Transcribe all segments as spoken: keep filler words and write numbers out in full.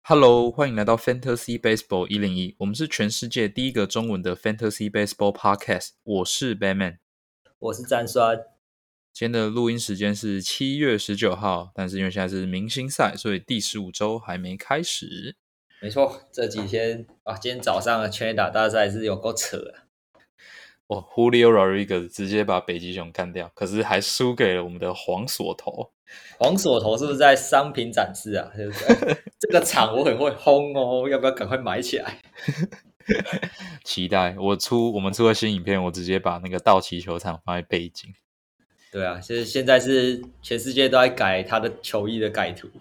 Hello，欢迎来到 Fantasy Baseball 一零一，我们是全世界第一个中文的 Fantasy Baseball Podcast。我是 Batman， 我是詹酸。 今天的录音时间是七月十九号，但是因为现在是明星赛，所以第十五周还没开始。 没错，这几天啊，今天早上的全垒打大赛是有够扯的。 哦 Julio Rodriguez 直接把北极熊干掉，可是还输给了我们的黄锁头。 黄锁头是不是在商品展示啊？对不对？这个场我很会轰哦，要不要赶快买起来？ 期待我出我们出了新影片，我直接把那个道奇球场放在背景。 对啊，现现在是全世界都在改他的球衣的改图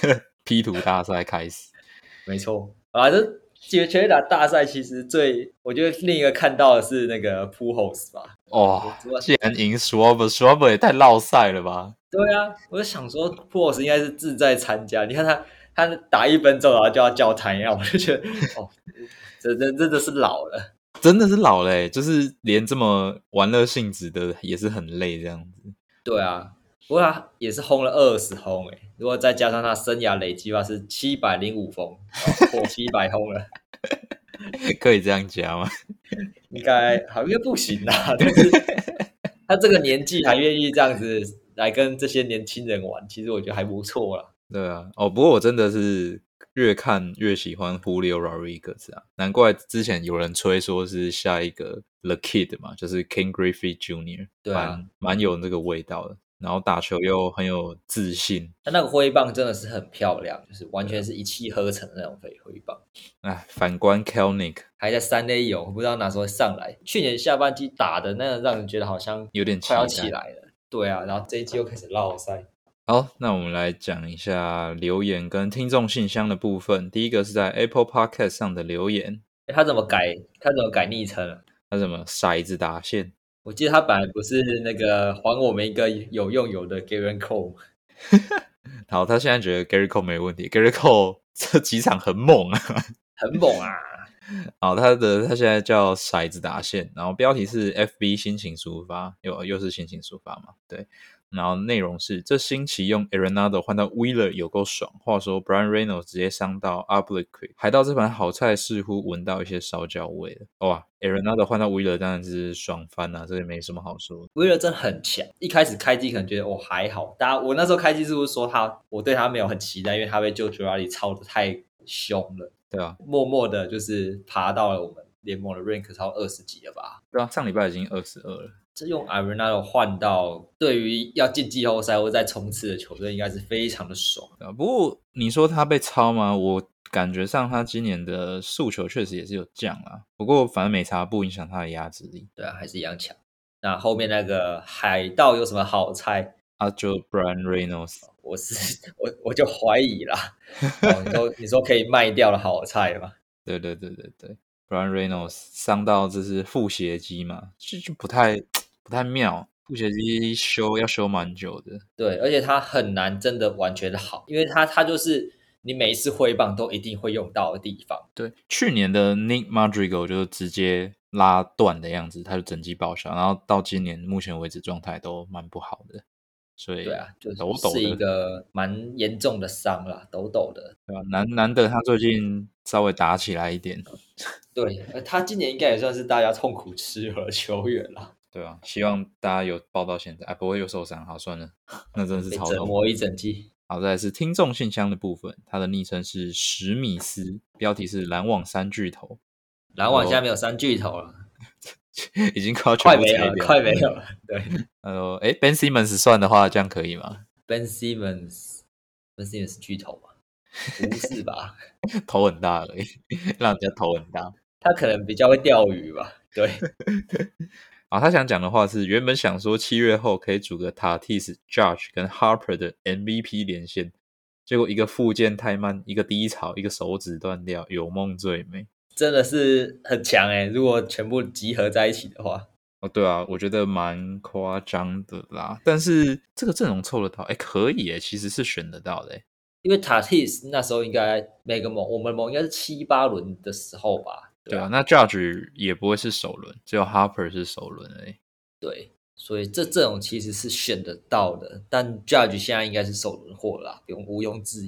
，P 图大赛开始。 没错啊，这全垒打大赛其实最，我觉得另一个看到的是那个 Pujols 吧。 哇、哦，竟然赢 Schwarber，Schwarber 也太落赛了吧？ 对啊，我就想说 Pujols 应该是志在参加，你看他他打一分钟然后就要叫台呀，我就觉得哦，这真真的是老了。 真的是老了、欸、就是连这么玩乐性质的也是很累这样子。 对啊，不过他也是轰了二十轰诶，如果再加上他生涯累积的话是七百零五轰，破七百轰了。 可以这样加吗？ 应该好像不行啦，但是他这个年纪还愿意这样子来跟这些年轻人玩，其实我觉得还不错啦。 对啊，哦，不过我真的是越看越喜欢 Julio Rodriguez 啊，难怪之前有人吹说是下一个 The Kid 嘛，就是 Ken Griffey Junior 对啊， 蛮蛮有那个味道的，然后打球又很有自信。 他那个挥棒真的是很漂亮，就是完全是一气呵成的那种挥棒。 哎，反观 Kelenic 还在三 A 有，不知道哪时候上来。去年下半季打的那个，让人觉得好像有点快要期待起来了。对啊，然后这一季又开始落赛。 好，那我们来讲一下留言跟听众信箱的部分。第一个是在 Apple Podcast 上的留言， 诶他怎么改？他怎么改昵称了？ 他什么骰子打线？ 我记得他本来不是那个还我们一个有用有的 Garen Cole。 好，他现在觉得 Gary Cole 没问题，Gary Cole 这几场很猛啊， 很猛啊！ 好，他的他现在叫骰子打线，然后标题是 F B 心情抒发，又又是心情抒发嘛，对。然后内容是这星期用 Arenado 换到 Wheeler 有够爽。话说 Brian Reynolds 直接伤到 Oblique， 海盗这盘好菜似乎闻到一些烧焦味了。哇 Arenado 换到 Wheeler 当然是爽翻啦、啊，这也没什么好说。 Wheeler 真的很强，一开始开机可能觉得哦还好，大家我那时候开机是不是说他我对他没有很期待，因为他被 Joe Girardi 操的太凶了。 对啊， 默默的就是爬到了我们联盟的 rank 超二十几了吧？ 对啊，上礼拜已经二十二了。 这用 Arenado 换到对于要进季后赛或再冲刺的球队，应该是非常的爽。 啊，不过你说他被抄吗？我感觉上他今年的速球确实也是有降啦，不过反正没差，不影响他的压制力。 对啊，还是一样强。那后面那个海盗有什么好猜？ 啊，就 Brian Reynolds， 我是我我就怀疑啦。哦，你说你说可以卖掉的好菜吗？ 对对对对对 ，Brian Reynolds 伤到这是腹斜肌嘛，就就不太不太妙，腹斜肌修要修蛮久的。 对，而且他很难真的完全的好，因为他他就是你每一次挥棒都一定会用到的地方。 对，去年的 Nick Madrigal 就直接拉断的样子，他就整季报销，然后到今年目前为止状态都蛮不好的，所以对啊，就抖抖是一的， 个蛮严重的伤啦，抖抖的。 对吧？难难得他最近稍微打起来一点， 对，呃他今年应该也算是大家痛苦吃喝的球员啦， 对啊，希望大家有报到现在，哎，不会又受伤，好算了，那真的是被超痛。 折磨一整季。 好，再来是听众信箱的部分，他的昵称是史米斯，标题是篮网三巨头， 篮网现在没有三巨头了， 已经快要全快没有了， 部拆掉， 快没有了。对他说，哎，Ben Simmons 算的话，这样可以吗？ ，Ben Simmons，Ben Simmons 巨头吗？不是吧？ 头很大而已，让人家头很大。 他可能比较会钓鱼吧。对， 啊，他想讲的话是，原本想说七月后可以组个 Tatis、Judge 跟 Harper 的 M V P 连线，结果一个复健太慢，一个低潮，一个手指断掉，有梦最美。 真的是很强诶、如果全部集合在一起的话， 哦，对啊，我觉得蛮夸张的啦，但是这个阵容凑得到，哎，可以诶，其实是选得到的诶。 因为 Tatis 那时候应该每个盟我们盟应该是七八轮的时候吧，对啊， 对啊，那 Judge 也不会是首轮，只有 Harper 是首轮而已。 对，所以这这种其实是选得到的，但 Judge 现在应该是首轮货啦，不用毋庸置疑。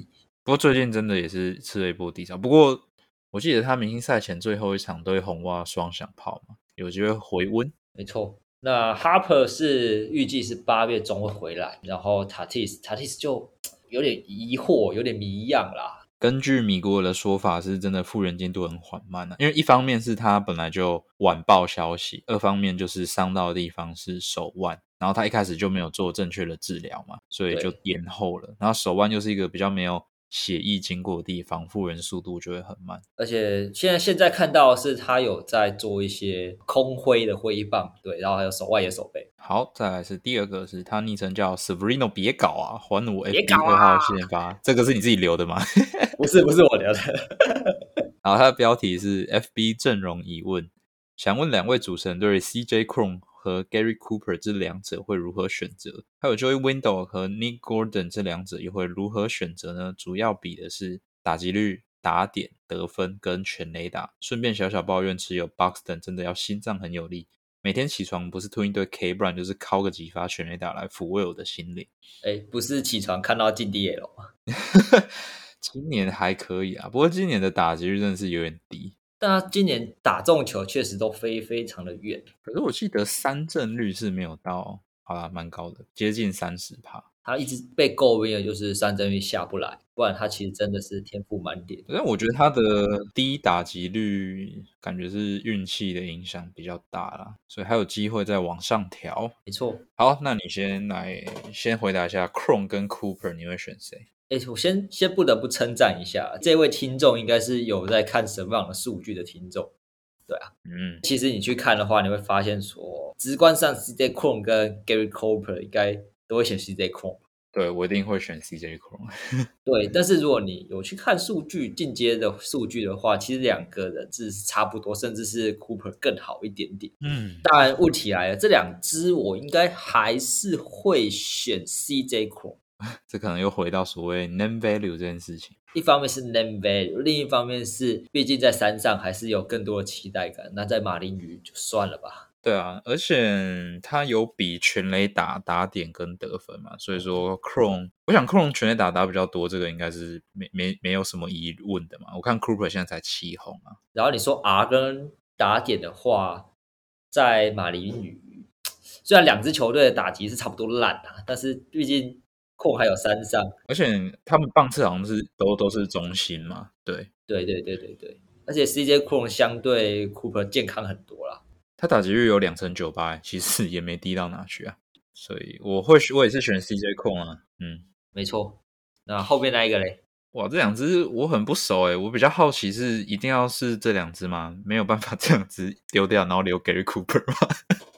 不过最近真的也是吃了一波低潮。不过我记得他明星赛前最后一场对红袜双响炮嘛，有机会回温。 没错。那 Harper 是预计是八月中会回来，然后 Tatis Tatis 就有点疑惑，有点迷样啦。 根据米国尔的说法，是真的复原进度很缓慢啊，因为一方面是他本来就晚报消息，二方面就是伤到的地方是手腕，然后他一开始就没有做正确的治疗嘛，所以就延后了。然后手腕又是一个比较没有血液经过的地方，复原速度就会很慢。 而且现在现在看到的是他有在做一些空挥的挥棒，对，然后还有手外野手背。 好，再来是第二个，是他昵称叫 Severino， 别搞啊，还我 F 别 B 搞啊二号先发，这个是你自己留的吗？ 不是不是我留的。 然后他的标题是 F B 阵容疑问，想问两位主持人对 C J Cron 和 Gary Cooper 这两者会如何选择？还有 Joey Wendell 和 Nick Gordon 这两者又会如何选择呢？主要比的是打击率、打点、得分跟全垒打。顺便小小抱怨，持有 Buxton 真的要心脏很有力，每天起床不是吞一堆 K， 不然就是敲个几发全垒打来抚慰我的心灵。 哎，不是起床看到进 D L 吗？ 今年还可以啊，不过今年的打击率真的是有点低。 但他今年打中球确实都飞非常的远。 可是我记得三振率是没有到，好啦，蛮高的，接近 百分之三十。 他一直被诟病的就是三振率下不来，不然他其实真的是天赋满点。 但我觉得他的低打击率感觉是运气的影响比较大啦，所以还有机会再往上调。 没错。 好，那你先来先回答一下 Cron 跟 Cooper 你会选谁？ 哎，我先先不得不称赞一下这位听众，应该是有在看神棒的数据的听众。对啊， 嗯， 其实你去看的话，你会发现说，直观上 C J Cron 跟 Gary Cooper 应该都会选 C J Cron。 对，我一定会选 C J Cron。 对，但是如果你有去看数据进阶的数据的话，其实两个人是差不多，甚至是 Cooper 更好一点点。 嗯， 当然问题来了，这两支我应该还是会选 C J Cron。 这可能又回到所谓 name value 这件事情。 一方面是 name value， 另一方面是毕竟在山上还是有更多的期待感，那在马林鱼就算了吧。 对啊，而且他有比全垒打打点跟得分嘛，所以说 Cron， 我想 Cron 全垒打打比较多，这个应该是没没没有什么疑问的嘛。我看 Cooper 现在才七红啊。 然后你说 R 跟打点的话，在马林鱼虽然两支球队的打击是差不多烂啊，但是毕竟控还有山上， 而且他们棒次好像是都都是中心嘛，对， 对对对对对，而且 C J Cron 相对 Cooper 健康很多啦。 他打击率有两成九八，其实也没低到哪去啊，所以我会我也是选 C J 控啊，嗯， 没错。那后面那一个嘞？ 哇，这两只我很不熟诶，我比较好奇是一定要是这两只吗？没有办法这两只丢掉，然后留给 Cooper 吗？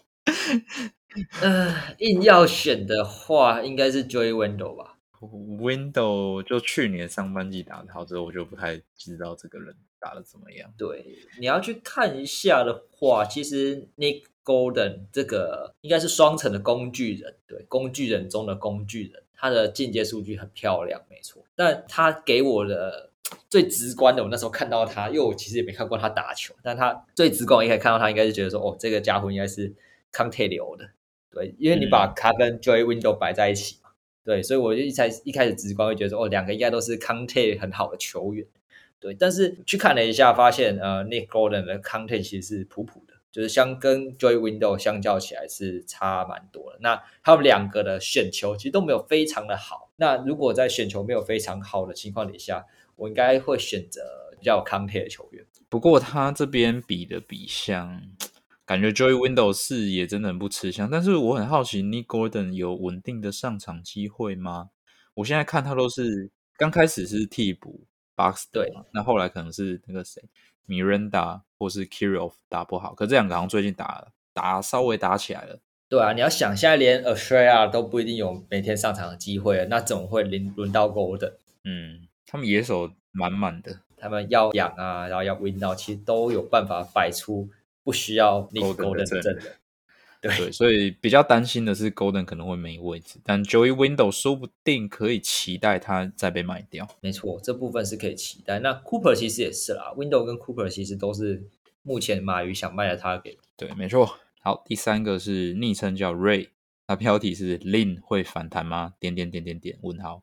呃，硬要选的话，应该是 Joey Wendell 吧。 Window 就去年上半季打得好之后，我就不太知道这个人打得怎么样。 对，你要去看一下的话，其实 Nick Gordon 这个应该是双层的工具人，对，工具人中的工具人，他的进阶数据很漂亮，没错。但他给我的最直观的，我那时候看到他，因为我其实也没看过他打球，但他最直观，我一开始看到他，应该是觉得说，哦，这个家伙应该是康泰流的，对，因为你把他跟 Joey Wendell 摆在一起。对，所以我就一开一开始直观会觉得说，哦，两个应该都是康泰很好的球员，对。但是去看了一下，发现呃，Nick Gordon 的康泰其实是普普的，就是相跟 Joey Wendell 相较起来是差蛮多的。那他们两个的选球其实都没有非常的好。那如果在选球没有非常好的情况底下，我应该会选择比较有康泰的球员。 不过他这边比的比项。感觉 Joey Wendell 视野真的很不吃香，但是我很好奇 Nick Gordon 有稳定的上场机会吗？我现在看他都是刚开始是替补 Buxton 嘛，那后来可能是那个谁 Miranda 或是 Kirov 打不好，可这两个好像最近打打稍微打起来了。 对啊，你要想现在连 Australia 都不一定有每天上场的机会了，那怎么会轮轮到 Gordon？ 嗯，他们野手满满的， 他们要养啊，然后要 win 到，其实都有办法摆出不需要 Nick Gordon 的阵容。对, 对，所以比较担心的是 Gordon 可能会没位置，但 Joey Wendell 说不定可以期待他再被卖掉。 没错，这部分是可以期待。那 Cooper 其实也是啦 ，Wendell 跟 Cooper 其实都是目前马鱼想卖的 target。 对，没错。好，第三个是昵称叫 Ray， 他标题是 Lin 会反弹吗？点点点点点问号。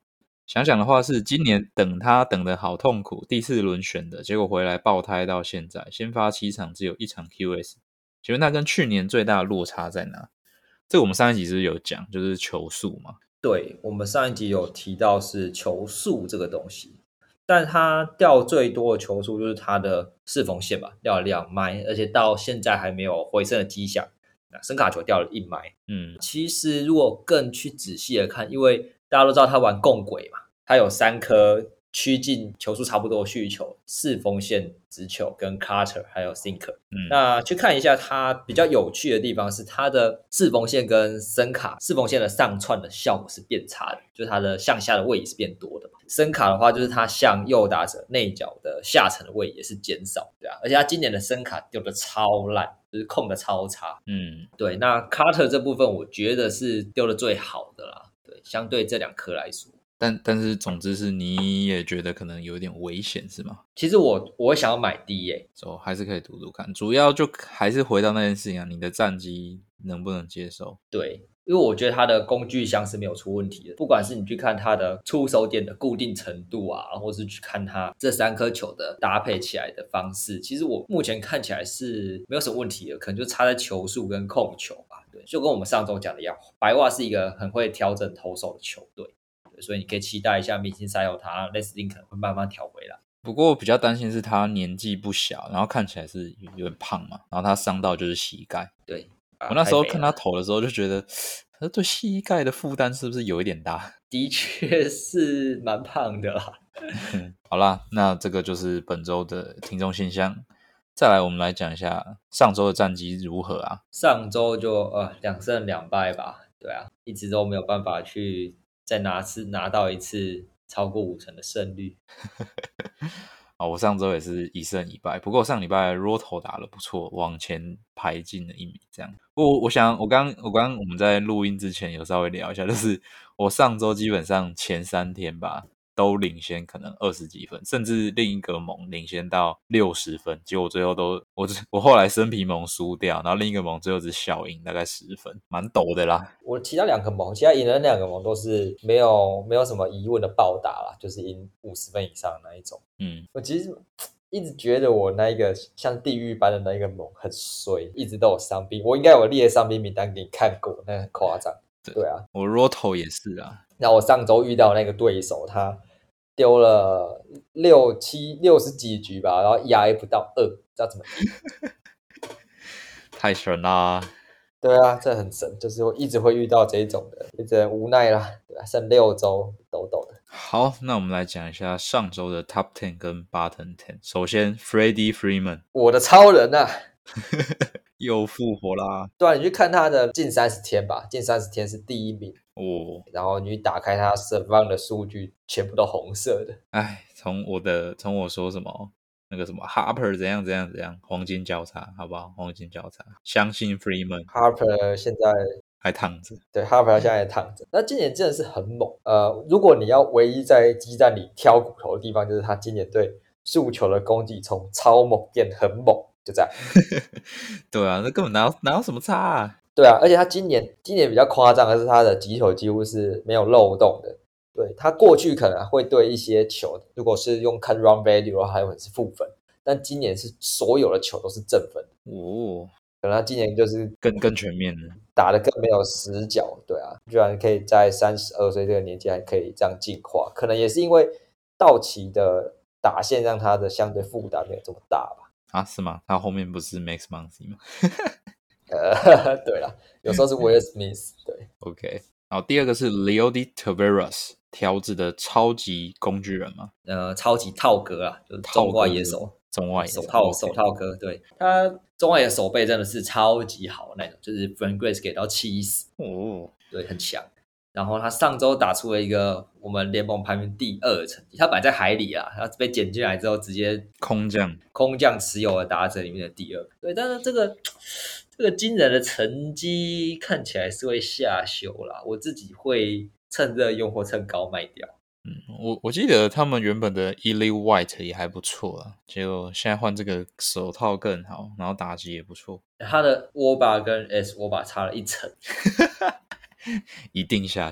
想想的话是今年等他等得好痛苦，第四轮选的，结果回来爆胎到现在，先发七场只有一场 Q S， 请问那跟去年最大的落差在哪？这个我们上一集是不是有讲，就是球速嘛。 对，我们上一集有提到是球速这个东西，但他掉最多的球速就是他的四缝线吧，掉了两迈，而且到现在还没有回升的迹象。那声卡球掉了一迈， 嗯， 其实如果更去仔细的看，因为大家都知道他玩共轨嘛，他有三颗趋近球速差不多的续球，四缝线直球跟 cutter 还有 sinker。 嗯， 那去看一下它比较有趣的地方是它的四缝线跟声卡四缝线的上窜的效果是变差的，就是它的向下的位移是变多的嘛。声卡的话就是它向右打者内角的下层的位移也是减少，对啊，而且它今年的声卡丢的超烂，就是控的超差。 嗯， 对，那 cutter 这部分我觉得是丢的最好的啦，对，相对这两颗来说。 但但是总之是你也觉得可能有点危险是吗？ 其实我我会想要买 D 耶、 so, 还是可以赌赌看，主要就还是回到那件事情啊，你的战绩能不能接受？ 对，因为我觉得它的工具箱是没有出问题的，不管是你去看它的出手点的固定程度啊，或是去看它这三颗球的搭配起来的方式，其实我目前看起来是没有什么问题的，可能就差在球速跟控球吧。对，就跟我们上周讲的一样，白袜是一个很会调整投手的球队，对，所以你可以期待一下明星赛后他类似丁可能会慢慢调回来。 不过比较担心是他年纪不小，然后看起来是有点胖嘛，然后他伤到就是膝盖。 对，啊、 我那时候看他太肥了投的时候就觉得，他对膝盖的负担是不是有一点大？ 的确是蛮胖的啦。 好啦，那这个就是本周的听众信箱。再来，我们来讲一下上周的战绩如何啊？ 上周就呃两胜两败吧，对啊，一直都没有办法去再拿次拿到一次超过五成的胜率。 啊，我上周也是一胜一败，不过上礼拜 Roto 打得不错，往前排进了一米这样。我我想我刚我刚我们在录音之前有稍微聊一下，就是我上周基本上前三天吧都领先可能二十几分，甚至另一个盟领先到六十分，结果最后都我我后来生皮盟输掉，然后另一个盟最后只小赢大概十分，蛮陡的啦。 我其他两个盟，其他赢的那两个盟都是没有没有什么疑问的暴打啦，就是赢五十分以上的那一种。 嗯， 我其实一直觉得我那一个像地狱般的那一个盟很衰，一直都有伤兵，我应该有列伤兵名单给你看过，那很夸张。对啊， 我 Roto 也是啊。 那我上周遇到那个对手，他丢了六七六十几局吧，然后 E R A 不到二，知道怎么赢？ 太神啦！ 对啊，这很神，就是我一直会遇到这一种的，也只能无奈啦。对啊，剩六周，抖抖的。 好，那我们来讲一下上周的 Top Ten 跟 Bottom Ten。首先 ，Freddie Freeman 我的超人啊！ 又复活啦！ 对啊，你去看他的近三十天吧，近三十天是第一名。 哦， 然后你打开他 Survive 的数据，全部都红色的。 哎，从我的从我说什么那个什么 Harper 怎样怎样怎样，黄金交叉，好不好？黄金交叉，相信 Freeman Harper 现在还躺着。 对 Harper 现在也躺着，那今年真的是很猛。呃，如果你要唯一在激战里挑骨头的地方，就是他今年对速球的攻击从超猛变很猛，就这样。 对啊，那根本哪有哪有什么差啊？ 对啊，而且他今年今年比较夸张的是，他的击球几乎是没有漏洞的。对，他过去可能会对一些球，如果是用看 run value 的话，还会是负分，但今年是所有的球都是正分。 哦， 可能他今年就是更更全面了。 打得更没有死角，对啊，居然可以在三十二岁这个年纪还可以这样进化，可能也是因为道奇的打线让他的相对负担没有这么大吧。 啊，是吗？他后面不是 Max Muncy 吗？ 呃，对啦，有时候是 Will Smith， 对 OK， 好，第二个是 Leody Taveras， 条子的超级工具人嘛， 呃，超级套哥啊，就是中外野手， 中外野手套 OK 手套哥，对他中外野手背真的是超级好的那种，就是 Frank Grace 给到七十， 哦， 对，很强。然后他上周打出了一个我们联盟排名第二的成绩，他本来在海里啊，他被捡进来之后直接空降， 空降持有的打者里面的第二。对，但是这个这个惊人的成绩看起来是会下修啦，我自己会趁热用或趁高卖掉。 嗯，我我记得他们原本的 Eli White 也还不错啊，结果现在换这个手套更好，然后打击也不错， 他的握把跟 S 握把差了一层， 一定下修。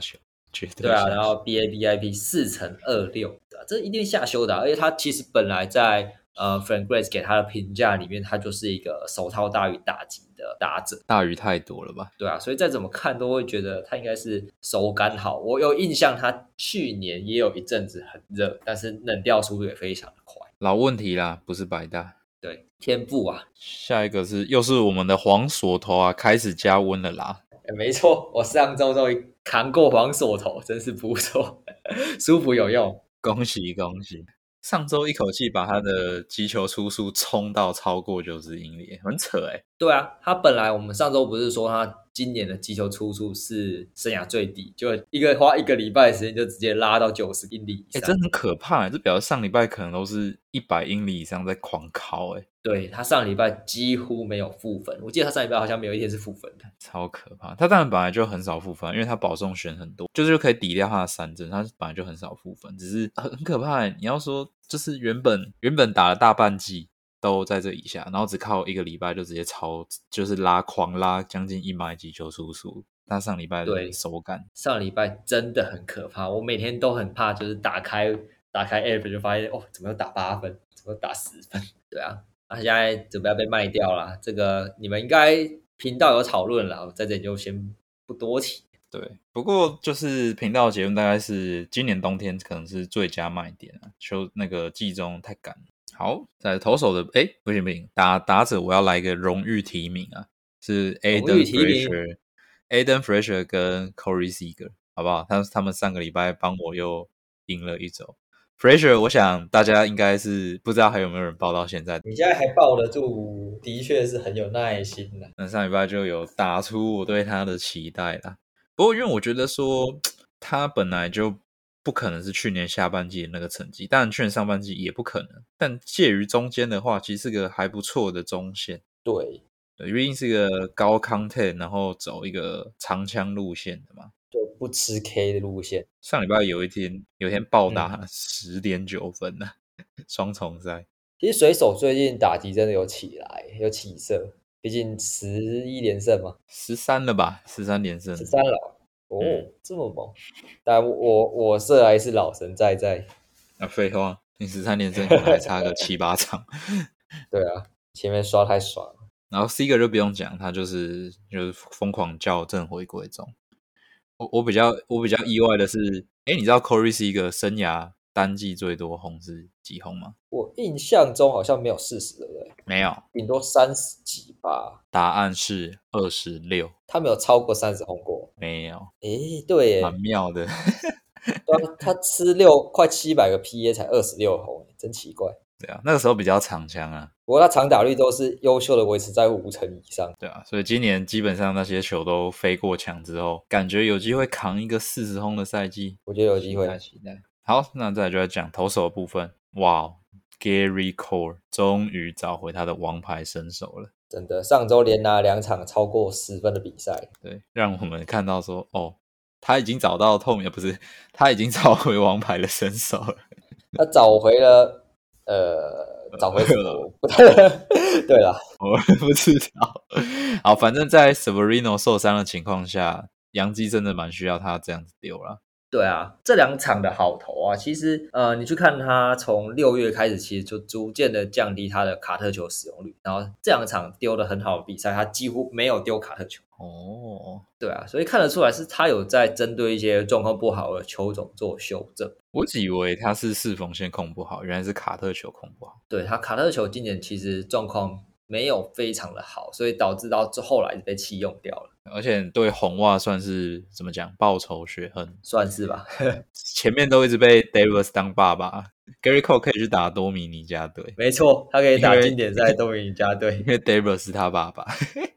绝对对啊， 下修。 然后 B A B I P 四乘二六，对啊，这一定下修的啊、而且他其实本来在呃 Frank Grace 给他的评价里面，他就是一个手套大于打击的打者。 大鱼太多了吧？ 对啊，所以再怎么看都会觉得他应该是手感好。我有印象，他去年也有一阵子很热，但是冷掉速度也非常的快。 老问题啦，不是百大。 对，天赋啊， 下一个是又是我们的黄锁头啊，开始加温了啦。 欸没错，我上周终于扛过黄锁头，真是不错，舒服有用。 恭喜恭喜！上周一口气把他的击球出速冲到超过九十英里，很扯哎、欸。 对啊，他本来我们上周不是说他今年的击球出速是生涯最低，就一个花一个礼拜的时间就直接拉到九十英里以哎、 上， 真很可怕、欸，这表示上礼拜可能都是一百英里以上在狂敲哎、欸， 对，他上礼拜几乎没有负分，我记得他上礼拜好像没有一天是负分的。 超可怕。他当然本来就很少负分，因为他保送选很多，就是可以抵掉他的三振，他本来就很少负分，只是很很可怕、欸。你要说就是原本原本打了大半季都在这以下，然后只靠一个礼拜就直接超，就是拉狂拉将近一百击球出速。他上礼拜的手感， 上礼拜真的很可怕，我每天都很怕，就是打开打开 app 就发现哦，怎么又打八分，怎么又打十分？对啊，他、啊、现在准备要被卖掉啦，这个你们应该频道有讨论啦，我在这里就先不多提。 对，不过就是频道的结论大概是今年冬天可能是最佳卖点啊，秋那个季中太赶了。好，在投手的诶不行不行，打打者我要来一个荣誉提名啊，是 Aiden Frazier、Aiden Frazier 跟 Corey Seager， 好不好？他他们上个礼拜帮我又赢了一周。Frazier 我想大家应该是不知道还有没有人报到现在， 你现在还抱得住，的确是很有耐心的。 那上礼拜就有打出我对他的期待啦。不过因为我觉得说他本来就不可能是去年下半季的那个成绩，当然去年上半季也不可能，但介于中间的话，其实是个还不错的中线。 对， 对，毕竟是个高 content， 然后走一个长枪路线的嘛。 就不吃 K 的路线。 上礼拜有一天有一天暴打嗯十点九分呢、啊，双重赛。 其实水手最近打击真的有起来，有起色，毕竟十一连胜嘛， 十三了吧？十三连胜， 十三了。哦， 嗯这么猛！但我我射来是老神在在。 啊，废话，你十三连胜可能还差个七八场。 对啊，前面刷太爽了。 然后 Seager 就不用讲，他就是就是疯狂校正回归中。我我比较我比较意外的是，哎，你知道 Corey Seager 生涯单季最多轰是几轰吗？ 我印象中好像没有四十，对不对？ 没有， 顶多三十几吧。 答案是二十六， 他没有超过三十轰过。 没有， 诶，对耶， 蛮妙的。 对啊，他吃六快七百个 P A 才二十六轰，真奇怪。 对啊，那个时候比较长枪啊。 不过他长打率都是优秀的维持在五成以上。 对啊，所以今年基本上那些球都飞过墙之后，感觉有机会扛一个四十轰的赛季。 我觉得有机会。 期待期待。好，那再来就来讲投手的部分。哇 ，Gary Cole 终于找回他的王牌身手了。 真的，上周连拿两场超过十分的比赛。 对，让我们看到说，哦，他已经找到透明，不是，他已经找回王牌的身手了。 他找回了，呃，找回什么？对啦， 我不知道。好，反正在 Severino 受伤的情况下，洋基真的蛮需要他这样子丢啦。 对啊，这两场的好投啊，其实呃，你去看他从六月开始，其实就逐渐的降低他的卡特球使用率，然后这两场丢的很好的比赛，他几乎没有丢卡特球。 哦， 对啊，所以看得出来是他有在针对一些状况不好的球种做修正。 我只以为他是四缝线控不好，原来是卡特球控不好。 对，他卡特球今年其实状况没有非常的好，所以导致到后来被弃用掉了。 而且对红袜算是怎么讲报仇雪恨， 算是吧。 前面都一直被 Davis 当爸爸 ，Gary Cole 可以去打多米尼加队， 没错，他可以打经典赛多米尼加队， 因为 Davis 是他爸爸，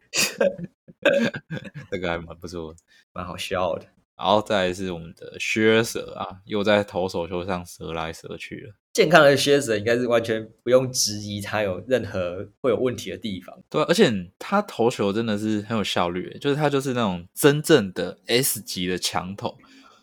这个还蛮不错的， 蛮好笑的。 然后再来是我们的靴舌啊，又在投手球上折来折去了。 健康的靴子应该是完全不用质疑他有任何会有问题的地方。 对、啊，而且他投球真的是很有效率，就是他就是那种真正的 S 级的强投，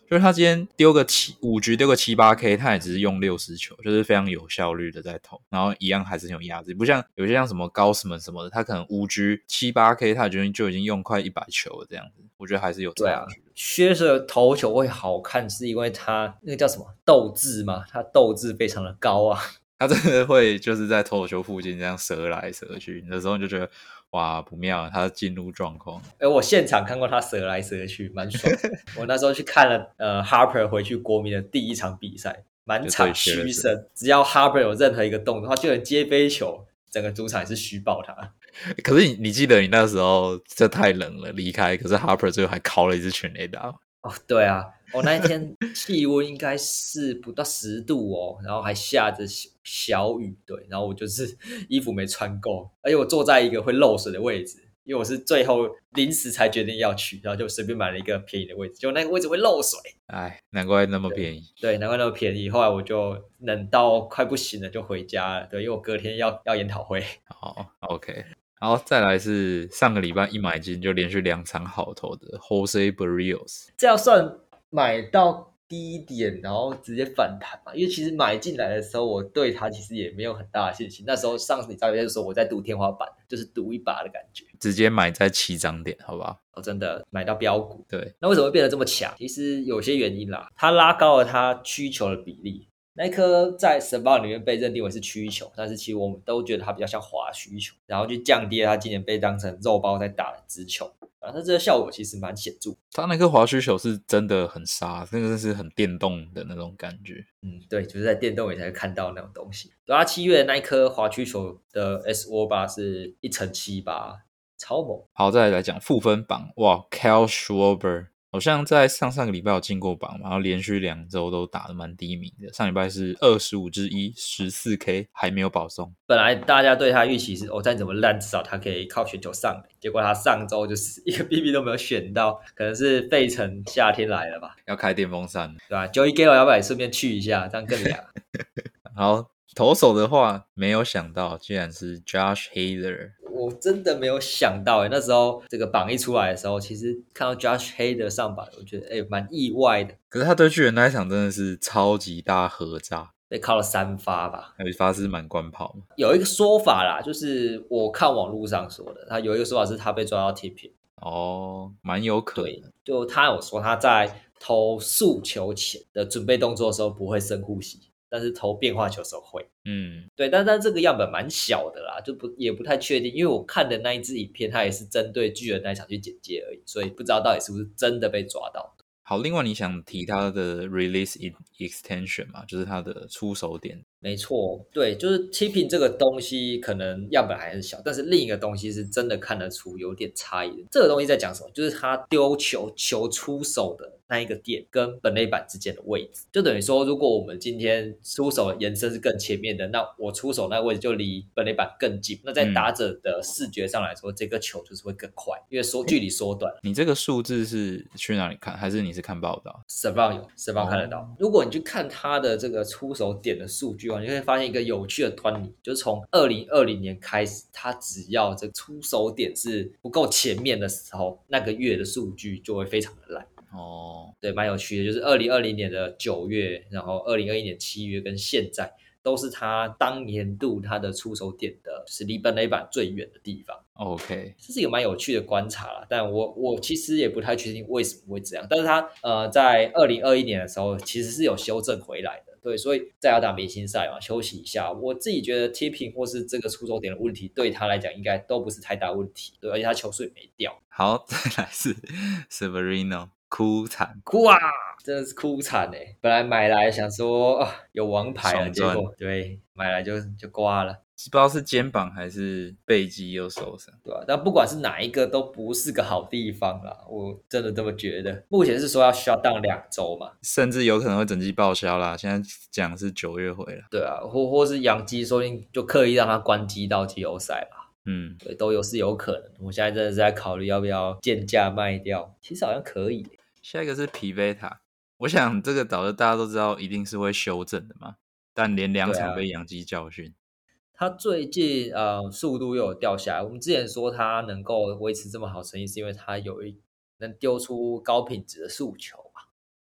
就是他今天丢个七五局丢个七八 K， 他也只是用六十球，就是非常有效率的在投，然后一样还是很有压制，不像有些像什么高斯们什么的，他可能五局七八 K 他就就已经用快一百球了这样子，我觉得还是有对啊差距的。 薛舍投球会好看，是因为他那个叫什么斗志嘛，他斗志非常的高啊。 他真的会就是在投球附近这样折来折去，有时候你就觉得哇不妙，他进入状况。 哎，我现场看过他折来折去，蛮爽的。我那时候去看了呃 Harper 回去国民的第一场比赛，满场嘘声，只要 Harper 有任何一个动作，他就能接飞球，整个主场也是嘘爆他。 可是你你记得你那时候这太冷了离开，可是 Harper 最后还敲了一支全垒打。 哦，对啊，我、哦、那一天气温应该是不到十度哦，然后还下着小雨，对，然后我就是衣服没穿够，而且我坐在一个会漏水的位置，因为我是最后临时才决定要去，然后就随便买了一个便宜的位置，就那个位置会漏水， 哎，难怪那么便宜。 对，对，难怪那么便宜。后来我就冷到快不行了，就回家了，对，因为我隔天要要研讨会。 好 ，OK。然后再来是上个礼拜一买进就连续两场好投的 Jose Barrios， 这样算买到低点，然后直接反弹嘛？因为其实买进来的时候，我对他其实也没有很大的信心。那时候上次你照片的时候，我在赌天花板，就是赌一把的感觉。 直接买在起涨点，好不好？ 哦，真的买到标股。 对， 那为什么会变得这么强？其实有些原因啦，它拉高了它需求的比例。那一颗在神棒里面被认定为是曲球，但是其实我们都觉得它比较像滑曲球，然后就降低了它今年被当成肉包在打的直球，啊，它这个效果其实蛮显著。 他那颗滑曲球是真的很杀，那个是很电动的那种感觉。 嗯，对，就是在电动里才会看到那种东西。对啊，七月的那一颗滑曲球的 S O 八是一乘七八，超猛。 好，再来讲负分榜，哇 ，Kyle Schwarber。好像在上上个礼拜有进过榜，然后连续两周都打得蛮低迷的。上礼拜是二十五之一，十四 K 还没有保送。 本来大家对他预期是，哦，再怎么烂，至少他可以靠选球上。结果他上周就是一个 B B 都没有选到，可能是费城夏天来了吧， 要开电风扇， 对吧 ？Joey Gallo 要不要也顺便去一下，这样更凉。 好，投手的话，没有想到竟然是 Josh Hader。 我真的没有想到诶，那时候这个榜一出来的时候，其实看到 Josh Hader 上榜，我觉得诶蛮意外的。 可是他对巨人那一场真的是超级大合炸， 被靠了三发吧， 有一发是满贯炮嘛。 有一个说法啦，就是我看网络上说的，他有一个说法是他被抓到 tipping， 哦，蛮有可能。 对，就他有说他在投速球前的准备动作的时候不会深呼吸，但是投变化球的时候会。 嗯， 对，但但这个样本蛮小的啦，就不也不太确定，因为我看的那一支影片，它也是针对巨人那一场去剪接而已，所以不知道到底是不是真的被抓到。 好，另外你想提他的 release extension 嘛，就是他的出手点。 没错，对，就是 tipping 这个东西可能样本还是小，但是另一个东西是真的看得出有点差异的。这个东西在讲什么？就是他丢球球出手的那一个点跟本垒板之间的位置，就等于说，如果我们今天出手的延伸是更前面的，那我出手那个位置就离本垒板更近。那在打者的视觉上来说，嗯、这个球就是会更快，因为缩距离缩短了。 你这个数字是去哪里看，还是你是看报道 s e v a n 有 s e v a n 看得到。如果你去看他的这个出手点的数据，你会发现一个有趣的端倪，就是从二零二零年开始，他只要这出手点是不够前面的时候，那个月的数据就会非常的烂。 哦， 对，蛮有趣的，就是二零二零年的九月，然后二零二一年七月跟现在都是他当年度他的出手点的，就是离本垒板最远的地方。 OK， 这是一个蛮有趣的观察啦，但我我其实也不太确定为什么会这样。但是他呃在二零二一年的时候其实是有修正回来的，对，所以在要打明星赛嘛，休息一下。我自己觉得 tipping 或是这个出手点的问题，对他来讲应该都不是太大问题，对，而且他球速也没掉。 好，再来是 Severino， 哭惨， 哭啊！真的是哭惨哎！本来买来想说啊有王牌了，结果对买来就就挂了。 不知道是肩膀还是背肌又受伤， 对吧、啊？但不管是哪一个，都不是个好地方啦。我真的这么觉得。目前是说要 shut down 两周嘛， 甚至有可能会整季报销啦。现在讲是九月回了， 对啊，或或是养鸡，说不定就刻意让他关机到季后赛吧。 嗯， 对，都有是有可能。我现在真的是在考虑要不要贱价卖掉，其实好像可以。 下一个是皮贝塔，我想这个导致大家都知道一定是会修正的嘛，但连两场被养鸡教训。 他最近呃速度又有掉下来。我们之前说他能够维持这么好成绩，是因为他有一能丢出高品质的速球嘛。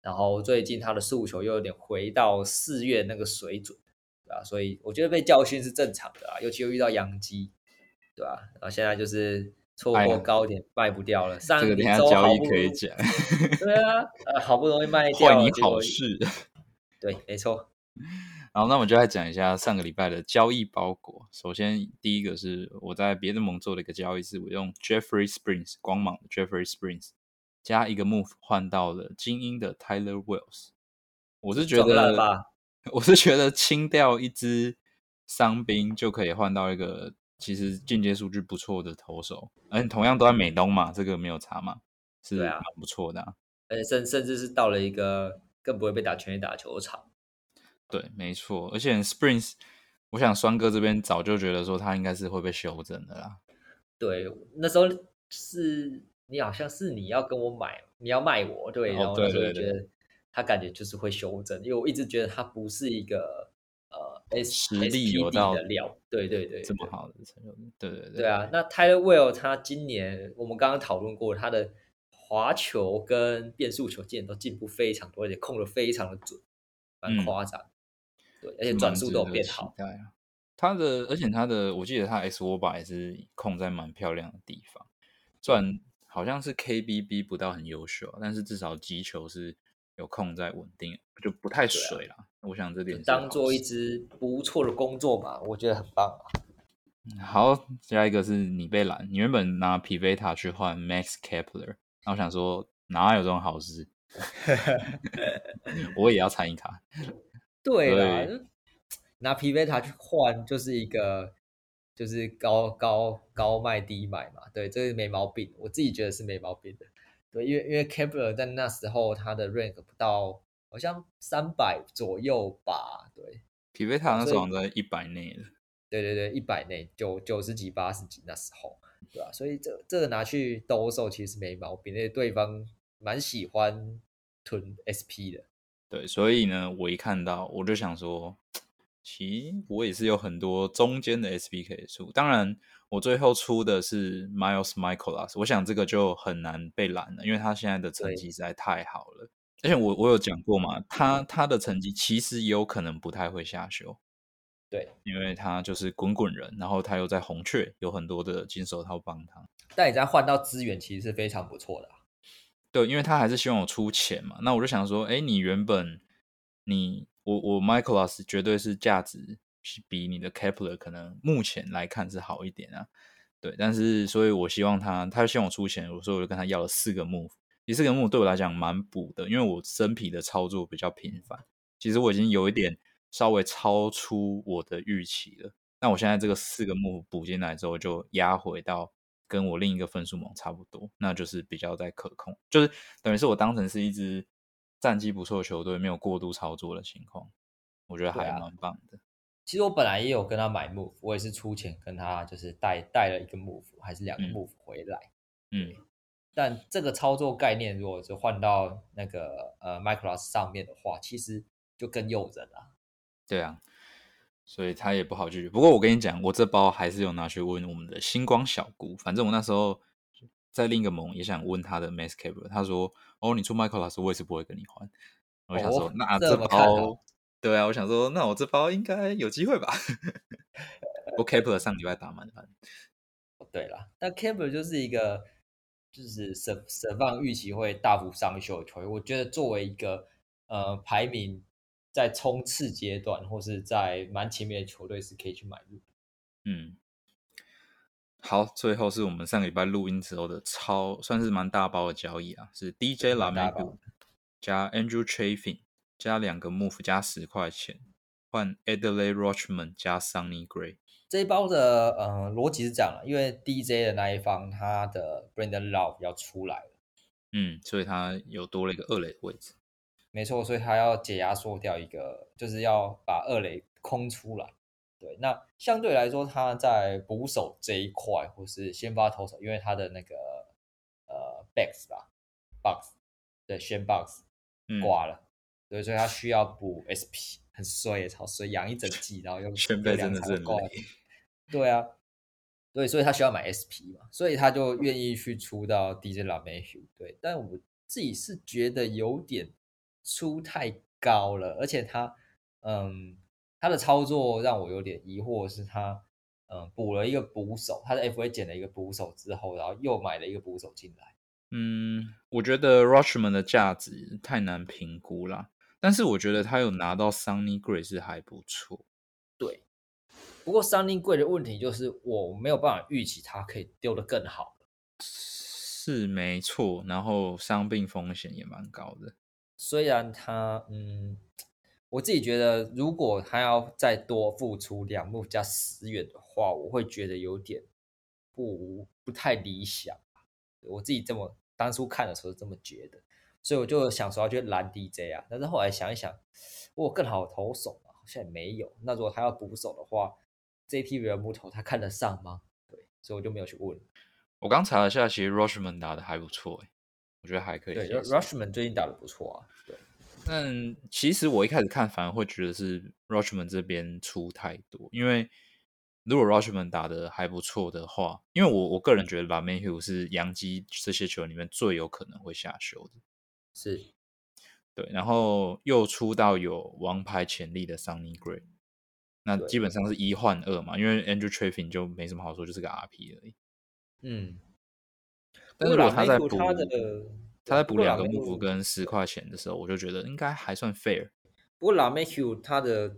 然后最近他的速球又有点回到四月那个水准，对吧、所以我觉得被教训是正常的啊，尤其又遇到洋基，对吧、然后现在就是错哎呀， 过高点卖不掉了， 这个等一下上一周交易好不容易， 可以讲， 对啊，呃，好不容易卖坏你掉了，结果好事。 对，没错， 好，那我们就来讲一下上个礼拜的交易包裹。首先，第一个是我在别的盟做的一个交易，是我用 Jeffrey Springs 光芒的 Jeffrey Springs 加一个 move 换到了精英的 Tyler Wells。我是觉撞烂得， 吧。 我是觉得清掉一支伤兵就可以换到一个其实进阶数据不错的投手，而且同样都在美东嘛，这个没有差嘛，是蛮对啊， 不错的啊。 而且甚甚至是到了一个更不会被打全垒打球场。 对，没错，而且 Springs，我想双哥这边早就觉得说他应该是会被修正的啦。 对，那时候是你好像是你要跟我买，你要卖我，对，然哦， 后那对对对， 时候就觉得他感觉就是会修正，因为我一直觉得他不是一个呃 S 实力有 SPD 的到料。对对对对这么好的成就，对对对， 对啊，那 Tyler Will 他今年我们刚刚讨论过，他的滑球跟变速球今年都进步非常多，而且控的非常的准，蛮嗯， 夸张。对，而且是转速都有蛮值得变好。 期待啊。他的，而且他的，我记得他 X 握把也是控在蛮漂亮的地方，虽对， 然好像是 K B B 不到很优秀啊，但是至少击球是有控在稳定，就不太对啊， 水啦。我想这就点是当做一好事。 支不错的工作吧，我觉得很棒啊。 好，下一个是你被拦，你原本拿皮维塔去换 Max Kepler，然后我想说哪有这种好事，我也要参与卡， 对啦， 所以拿皮维塔去换就是一个就是高高高卖低买嘛，对，这个没毛病，我自己觉得是没毛病的。对，因为因为 Kepler 在那时候他的 rank 不到好像三百左右吧，对， 皮维对啊， 塔那时候好所以像在一百内的。 对对对，一百内九九十几八十几那时候，对吧、所以这这个拿去兜售其实没毛病，因为对方蛮喜欢囤 S P 的。 对，所以呢，我一看到我就想说，其实我也是有很多中间的 S P 可以出。当然，我最后出的是 Miles Michaelas，我想这个就很难被拦了，因为他现在的成对绩实在太好了。而且我我有讲过嘛，他他的成绩其实也有可能不太会下修， 对， 因为他就是滚滚人，然后他又在红雀有很多的金手套帮他。 但你再换到资源，其实是非常不错的啊、 对，因为他还是希望我出钱嘛，那我就想说，哎，你原本你我我 Michaelas 绝对是价值是比你的 Kepler 可能目前来看是好一点啊，对，但是所以我希望他，他就希望我出钱，所以我就跟他要了四个 move，第四个 move 对我来讲蛮补的，因为我生皮的操作比较频繁，其实我已经有一点稍微超出我的预期了。那我现在这个四个 move 补进来之后，就压回到跟我另一个分数盟差不多，那就是比较在可控，就是等于是我当成是一支战绩不错的球队，没有过度操作的情况，我觉得还对啊， 蛮棒的。 其实我本来也有跟他买 move，我也是出钱跟他就是带带了一个 move，还是两个嗯 move 回来。 嗯， 对，但这个操作概念如果是换到那个呃 Micros 上面的话，其实就更诱人了。 对啊，所以他也不好拒绝。不过我跟你讲，我这包还是有拿去问我们的星光小姑，反正我那时候在另一个盟也想问他的 Max Caber，他说：“哦，你出 Michael 老师，我也是不会跟你换。”我想说， 哦， 那这这么看好？ 包，对啊，我想说，那我这包应该有机会吧？不过 Caber 上礼拜打满盘， 对啦，但 Campbell 就是一个就是舍舍放预期会大幅上修的球员。我觉得作为一个呃排名在冲刺阶段或是在蛮前面的球队是可以去买入。 嗯。好，最后是我们上个礼拜录音之后的超算是蛮大包的交易啊，是 D J 对， 拉蛮大包梅杜加 Andrew Chafin 加两个 move 加十块钱换 Adley Rochman 加 Sunny Gray。 这一包的呃逻辑是这样的，因为 D J 的那一方他的 Brandon Love 要出来了， 嗯，所以他有多了一个二垒的位置。 没错，所以他要解压缩掉一个，就是要把二垒空出来。对，那相对来说，他在捕手这一块，或是先发投手，因为他的那个呃 Box 吧，Box 对，先 Box 嗯， 挂了，对，所以他需要补 S P，很衰耶，超衰，养一整季，然后又有两宣贝真的场都挂了。 是很累。 对啊，对，所以他需要买 S P 嘛，所以他就愿意去出到 D J LaMahieu。对，但我自己是觉得有点出太高了，而且他嗯他的操作让我有点疑惑，是他嗯补了一个捕手，他的 F A 减了一个捕手之后，然后又买了一个捕手进来。 嗯，我觉得 Rushman 的价值太难评估啦，但是我觉得他有拿到 Sonny Gray 是还不错。 对，不过三菱贵的问题就是我没有办法预期它可以丢得更好。 是没错，然后伤病风险也蛮高的。 虽然他嗯，我自己觉得如果他要再多付出两幕加十元的话，我会觉得有点不不太理想。我自己这么当初看的时候是这么觉得，所以我就想说要去蓝 D J 啊，但是后来想一想，我有更好的投手吗？好像也没有。那如果他要捕手的话，J T 人木头他看得上吗？对，所以我就没有去问。 我刚查了下，其实 Rushman 打的还不错，诶，我觉得还可以对接受。 ，Rushman 最近打的不错啊。对， 但其实我一开始看反而会觉得是 Rushman 这边出太多，因为如果 Rushman 打的还不错的话，因为我我个人觉得 LaMahieu 是洋基这些球员里面最有可能会下修的。 是。 对，然后又出到有王牌潜力的 Sonny Gray， 那基对， 本上是一换二嘛，因为 Andrew Chafin 就没什么好说，就是个 R P 而已。 嗯。不过拉但是如果他在梅图他的补他对， 在补两不过拉梅个幕布图跟十块钱的时候，我就觉得应该还算 fair。 不过拉梅图他的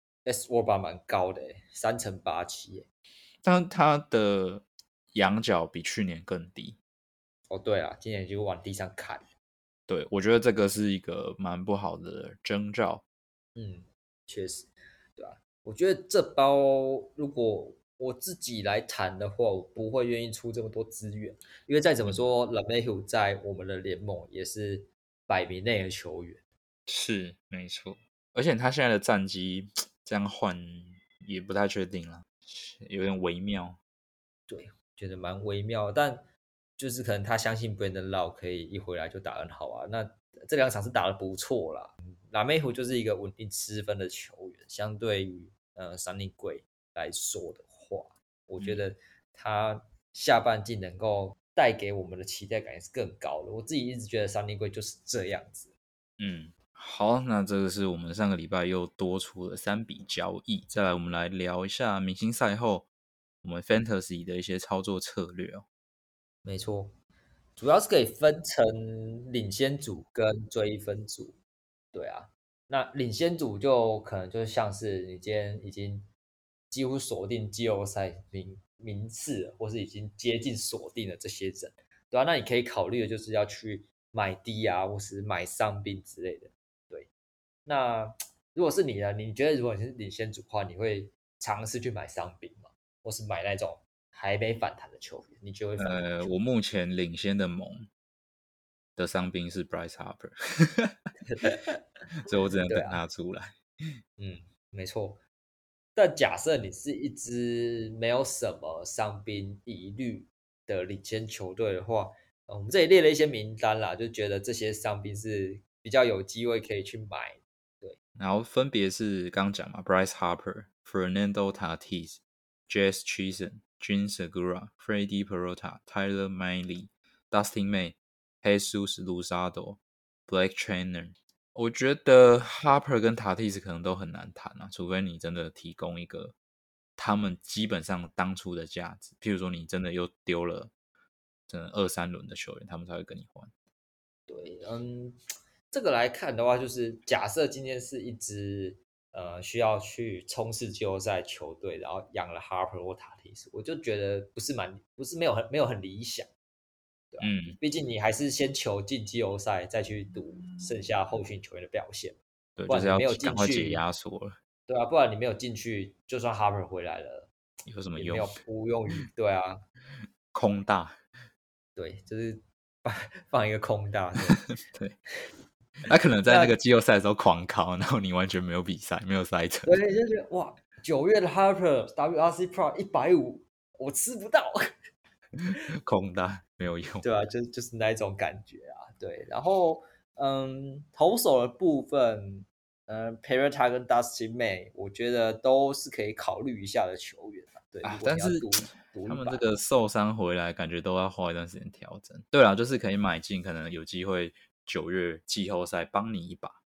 S W A R 蛮高的诶，三乘八七诶。 但他的仰角比去年更低。 哦，对啊，今年就往地上砍。 对，我觉得这个是一个蛮不好的征兆。 嗯，确实，对吧、我觉得这包如果我自己来谈的话，我不会愿意出这么多资源，因为再怎么嗯， 说 l a m e h u 在我们的联盟也是百名内的球员。 是没错，而且他现在的战绩这样换也不太确定了，有点微妙。 对，觉得蛮微妙的，但就是可能他相信 Brandon Lau 可以一回来就打很好啊。那这两场是打得不错啦。拉梅湖就是一个稳定失分的球员，相对于呃三立贵来说的话，我觉嗯得他下半季能够带给我们的期待感也是更高的。我自己一直觉得三立贵就是这样子。 嗯，好，那这个是我们上个礼拜又多出了三笔交易。再来，我们来聊一下明星赛后我们 Fantasy 的一些操作策略哦。 没错，主要是可以分成领先组跟追分组。对啊，那领先组就可能就像是你今天已经几乎锁定季后赛名名次了，或是已经接近锁定了这些人，对啊，那你可以考虑的就是要去买低啊，或是买伤兵之类的。对，那如果是你呢？你觉得如果你是领先组的话，你会尝试去买伤兵吗？或是买那种还没反弹的球员？你就会反哪个呃， 球员？ 我目前领先的盟的伤兵是 Bryce Harper，所以我只能等对啊， 他出来。 嗯，没错。但假设你是一支没有什么伤兵疑虑的领先球队的话，呃我们这里列了一些名单啦，就觉得这些伤兵是比较有机会可以去买。对， 然后分别是刚讲嘛，Bryce Harper、Fernando Tatis、Jazz Chisholm、Jean Segura、Freddie Peralta、Tyler Miley、Dustin May、Jesus Luzardo、Blake Trainer。我觉得 Harper 跟 Tatis 可能都很难谈啊，除非你真的提供一个他们基本上当初的价值，譬如说你真的又丢了真的二三轮的球员，他们才会跟你换。 对，嗯，这个来看的话，就是假设今天是一支呃需要去冲刺季后赛球队，然后养了 Harper 或塔蒂斯，我就觉得不是蛮不是没有很没有很理想。对啊， 嗯， 毕竟你还是先求进季后赛，再去赌剩下后续球员的表现， 对， 不就是要然你没有进赶快解去， 压缩了， 对啊，不然你没有进去，就算 Harper 回来了， 有什么用？ 也没有无用于，对啊， 空大。 对，就是放放一个空大，对， 对，他可能在那那个季后赛的时候狂考，然后你完全没有比赛，没有赛程。 对，就觉得哇，九月的 Harper W R C Pro 一百五，我吃不到， 空大没有用。 对啊，就就是那一种感觉啊，对，然后嗯，投手的部分。嗯 p e r e t a 跟 Dustin May，我觉得都是可以考虑一下的球员啊。对，如啊， 果但是你要赌一赌他们这一把， 个受伤回来，感觉都要花一段时间调整。对啊，就是可以买进，可能有机会九月季后赛帮你一把。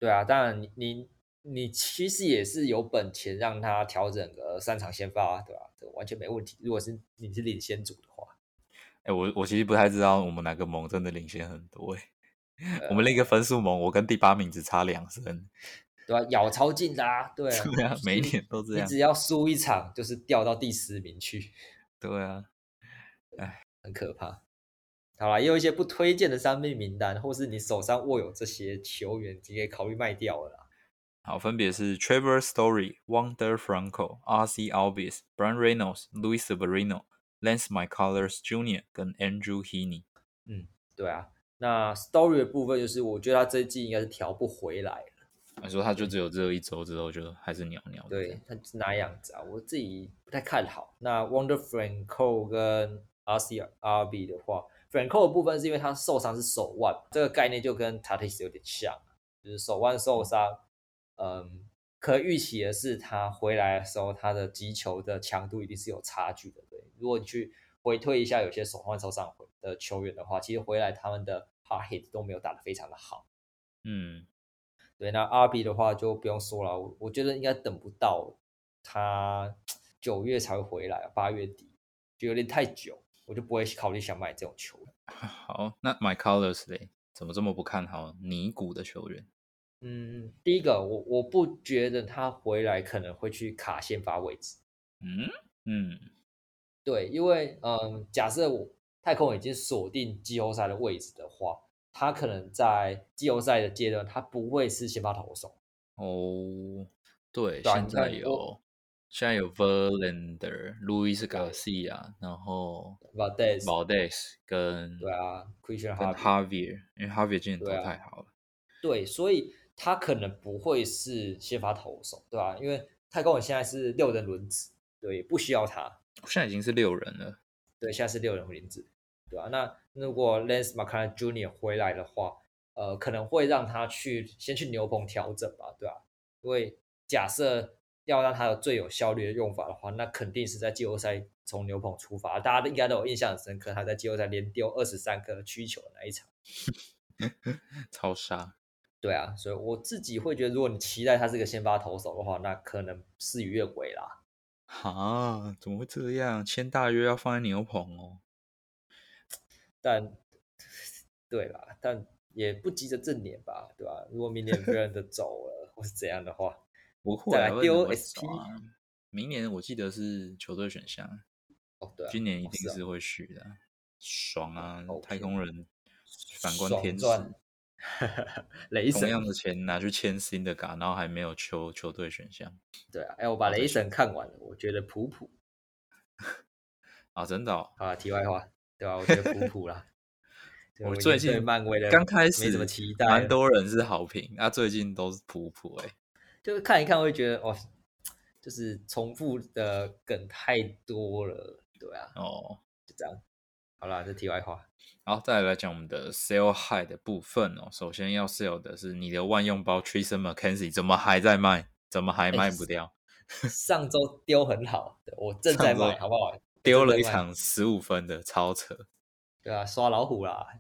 对啊，当然你你你其实也是有本钱让他调整个三场先发啊，对吧、这完全没问题。如果是你是领先组的话， 哎，我我其实不太知道我们哪个盟真的领先很多哎。我们那个呃， 分数盟，我跟第八名只差两胜。 对吧、咬超近的啊，对啊， 对啊，每一就是年都这样。 你只要输一场，就是掉到第十名去， 对啊，哎， 很可怕。好啦，也有一些不推荐的伤病名单，或是你手上握有这些球员，你可以考虑卖掉了啦。 好，分别是 Trevor Story、Wander Franco、R C Albies、Brian Reynolds、Luis Severino、Lance McCullers Junior 跟 Andrew Heaney。 嗯，对啊。那 Story 的部分就是，我觉得他这一季应该是调不回来了。 你说他就对只有这一周之后就还是鸟鸟的这样。 对，他是那样子啊，我自己不太看好。那 Wonder Franco 跟 R C R B 的话，Franco 的部分是因为他受伤是手腕，这个概念就跟 Tatis 有点像，就是手腕受伤，嗯，可预期的是他回来的时候，他的击球的强度一定是有差距的。对，如果你去回推一下，有些手腕受伤的球员的话，其实回来他们的 hard hit 都没有打得非常的好。 嗯， 对，那 R B 的话就不用说了，我我觉得应该等不到他九月才会回来，八月底就有点太久，我就不会考虑想买这种球员。 好，那 McCullers 嘞，怎么这么不看好尼古的球员？ 嗯，第一个我我不觉得他回来可能会去卡先发位置。 嗯嗯， 对，因为嗯，假设我太空已经锁定季后赛的位置的话，他可能在季后赛的阶段，他不会是先发投手。 哦，对， 对啊， 现你看我在有现在有 Verlander、Luis 对 Garcia，然后 Valdez， Valdez 跟对啊，Christian 跟 Harvey， Javier，因为 Javier 今年投对啊， 太好了。 对，所以他可能不会是先发投手，对吧、因为太空人现在是六人轮值，对，不需要他， 现在已经是六人了。 对，现在是六人轮值，对吧、那如果 Lance McCullers Junior 回来的话，呃，可能会让他去先去牛棚调整吧，对吧、因为假设要让他有最有效率的用法的话，那肯定是在季后赛从牛棚出发，大家应该都有印象很深刻，他在季后赛连丢二十三颗曲球的那一场。 超杀。 对啊，所以我自己会觉得，如果你期待他是个先发投手的话，那可能事与愿违啦。 哈，怎么会这样？签大约要放在牛棚哦。 但对啦，但也不急着正年吧，对吧？如果明年 v e r l a n d 走了或是怎样的话， 不会啊， 再来丢为什么会走 S P。 啊？明年我记得是球队选项， 哦，对啊， 今年一哦是啊定是会续的啊。爽啊！太 ，OK， 空人反观天使， 爽赚，雷同样神。 的钱拿去签新的嘎，然后还没有球球队选项， 对啊，哎，我把雷然后再选神看完了，我觉得普普。 啊，真的哦。 好啊，题外话，对吧、我觉得普普啦，对我我已经对最近漫威的刚开没什么始期待了。 蛮多人是好评，啊，最近都是普普哎、 就是看一看会觉得哦，就是重复的梗太多了，对啊， 哦， 就这样。好啦，这题外话。 然后再来讲我们的 sell high 的部分哦。首先要 sell 的是你的万用包 Tristan McKenzie 怎么还在卖？怎么还哎， 卖不掉？ 上周丢很好，对我正在卖， 上周好不好？我丢了一正在卖， 场十五分的，超扯。 对啊，刷老虎啦，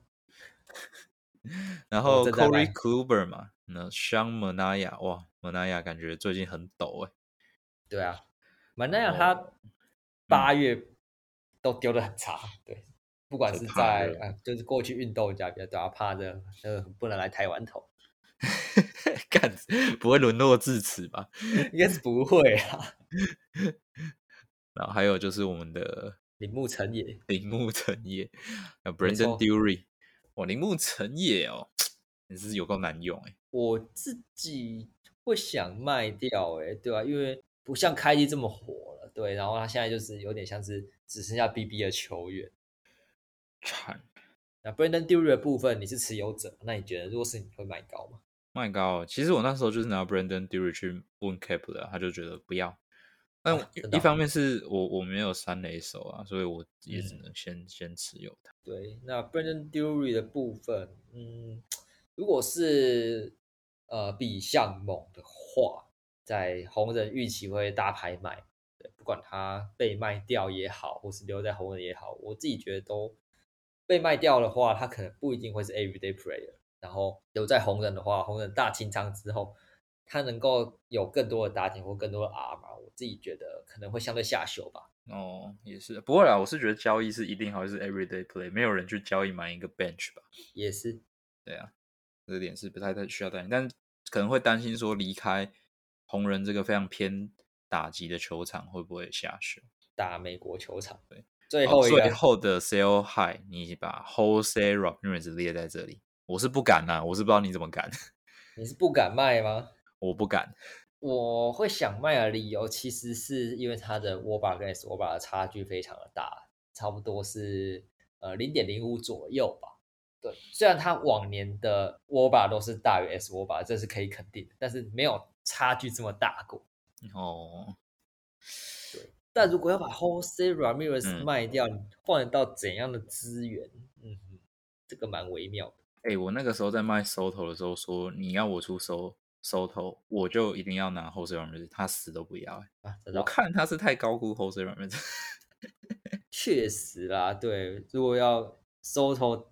我然后正在 Corey 卖。 Kluber 嘛，那 Sean Manaea 哇，Manaea 感觉最近很抖哎。 对啊，满那然样他后嗯， 八月都丢的很差，对，不管就是怕热。 在呃，就是过去运动家比较对啊，怕热，呃，不能来台湾投， 干不会沦落至此吧？ 应该是不会啊。 然后还有就是我们的铃木成也， 铃木成也，还有没 Brandon 错， Dury，哇，铃木成也哦，也是有够难用哎。 我自己会想卖掉、欸，对吧、因为不像开季这么火了，对，然后他现在就是有点像是只剩下 B B 的球员。 惨， 那 Brandon Dury 的部分你是持有者，那你觉得如果是你会买高吗？ 麦高，其实我那时候就是拿 Brandon Dury 去问 Cap 的，他就觉得不要。但啊，真的哦、 一方面是我我没有三垒手啊，所以我也只嗯， 能先先持有它。 对，那 Brandon Dury 的部分，嗯，如果是呃比项猛的话，在红人预期会大拍卖，对，不管他被卖掉也好，或是留在红人也好，我自己觉得都被卖掉的话，他可能不一定会是 everyday player。 然后留在红人的话，红人大清仓之后，他能够有更多的打点或更多的 R 嘛，我自己觉得可能会相对下修吧。 哦，也是，不会啦，我是觉得交易是一定还是 everyday play，没有人去交易买一个 bench 吧。 也是， 对啊，这点是不太太需要担心，但可能会担心说离开红人这个非常偏打击的球场会不会下修。 打美国球场。 对， 最好，最后一个， 后的 sell high，你把 Jose Ramirez 列在这里，我是不敢啊，我是不知道你怎么敢， 你是不敢卖吗？ 我不敢。 我会想卖的理由，其实是因为它的 W A B A 跟 S W A B A 的差距非常的大，差不多是呃零点零五左右吧。对，虽然它往年的 W A B A 都是大于 S W A B A，这是可以肯定的，但是没有差距这么大过。 哦， 对，但如果要把 Jose Ramirez 嗯， 卖掉，你换得到怎样的资源？嗯哼，这个蛮微妙的哎、我那个时候在卖 Soto 的时候说，你要我出收 Soto，我就一定要拿 Jose Ramirez，他死都不要、欸。 啊。这我倒是看他是太高估 Jose Ramirez。 确实啦，对，如果要 Soto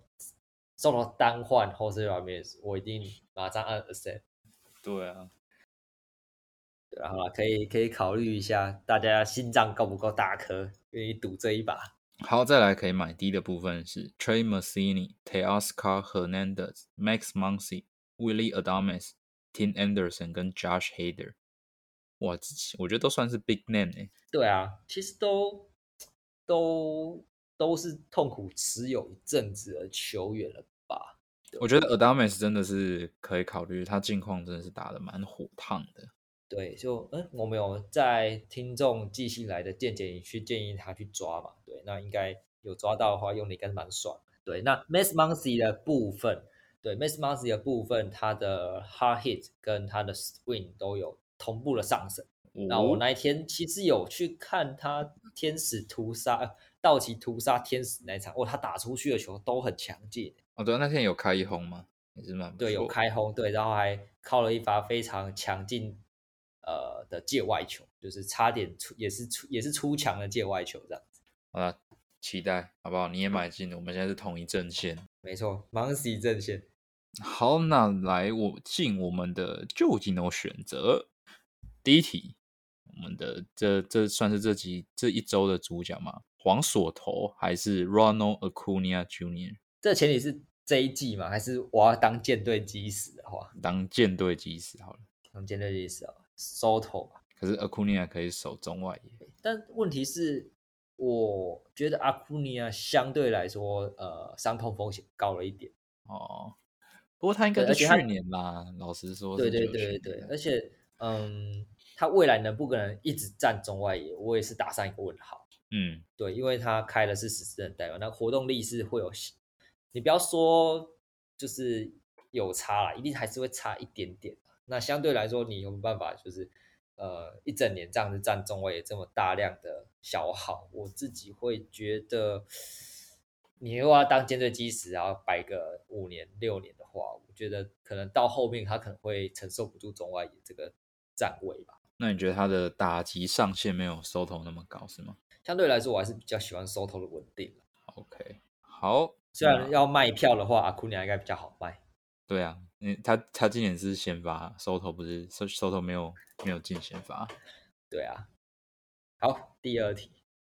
Soto 单换 Jose Ramirez，我一定马上按 accept。 对啊， 对啊，好了，可以可以考虑一下，大家心脏够不够大颗，愿意赌这一把？ 好，再来可以买低的部分是 Trey Mancini、Teoscar Hernandez、Max Muncy、Willie Adames、Tim Anderson 跟 Josh Hader。哇，这我觉得都算是 big name 哎、 对啊，其实都都都是痛苦持有一阵子的球员了吧？对我觉得 Adames 真的是可以考虑，他近况真的是打得蛮火烫的。 对，就嗯，我们有在听众寄信来的见解，你去建议他去抓嘛？对，那应该有抓到的话，用的应该是蛮爽的。对，那 Max Muncy 的部分，对 Max Muncy 的部分，他的 hard hit 跟他的 swing 都有同步的上升。那我哦， 那一天其实有去看他天使屠杀，呃道奇屠杀天使那一场，哦，他打出去的球都很强劲。 哦，对啊，那天有开一轰吗？也是蛮不对，有错的。 开轰，对，然后还靠了一发非常强劲呃的界外球，就是差点出，也是出也是出墙的界外球这样子。 好了，期待好不好？你也买进，我们现在是同一阵线。 没错 m o n c y 阵线， 好，那来我进我们的究竟有选择。第一题，我们的这这算是这集这一周的主角吗？黄锁头还是 Ronald Acuna Junior 这前提是这一季嘛，还是我要当舰队基石的话， 当舰队基石好了？ 当舰队基石啊，Soto 吧。 可是 Acuna 可以守中外野。 但问题是，我觉得阿库尼亚相对来说，呃，伤痛风险高了一点。 哦，不过他应该对， 是去而且他年啦，老实说对对是就去对对， 年的。 而且嗯，他未来能不可能一直站中外野，我也是打上一个问号。 嗯， 对，因为他开的是十四人代表，那活动力是会有，你不要说就是有差啦，一定还是会差一点点。那相对来说，你有没有办法就是呃一整年这样子站中位这么大量的消耗？我自己会觉得，你如果要当舰队基石，然后摆个五年六年的话，我觉得可能到后面他可能会承受不住中外野这个站位吧。 那你觉得他的打击上限没有 Soto 那么高是吗相对来说，我还是比较喜欢收头的稳定啦。 ？OK，好， 虽然那要卖票的话，阿库尼亚应该比较好卖。 对啊，嗯，他他今年是先发，Soto 不是 Soto 没有没有进先发对啊，好，第二题，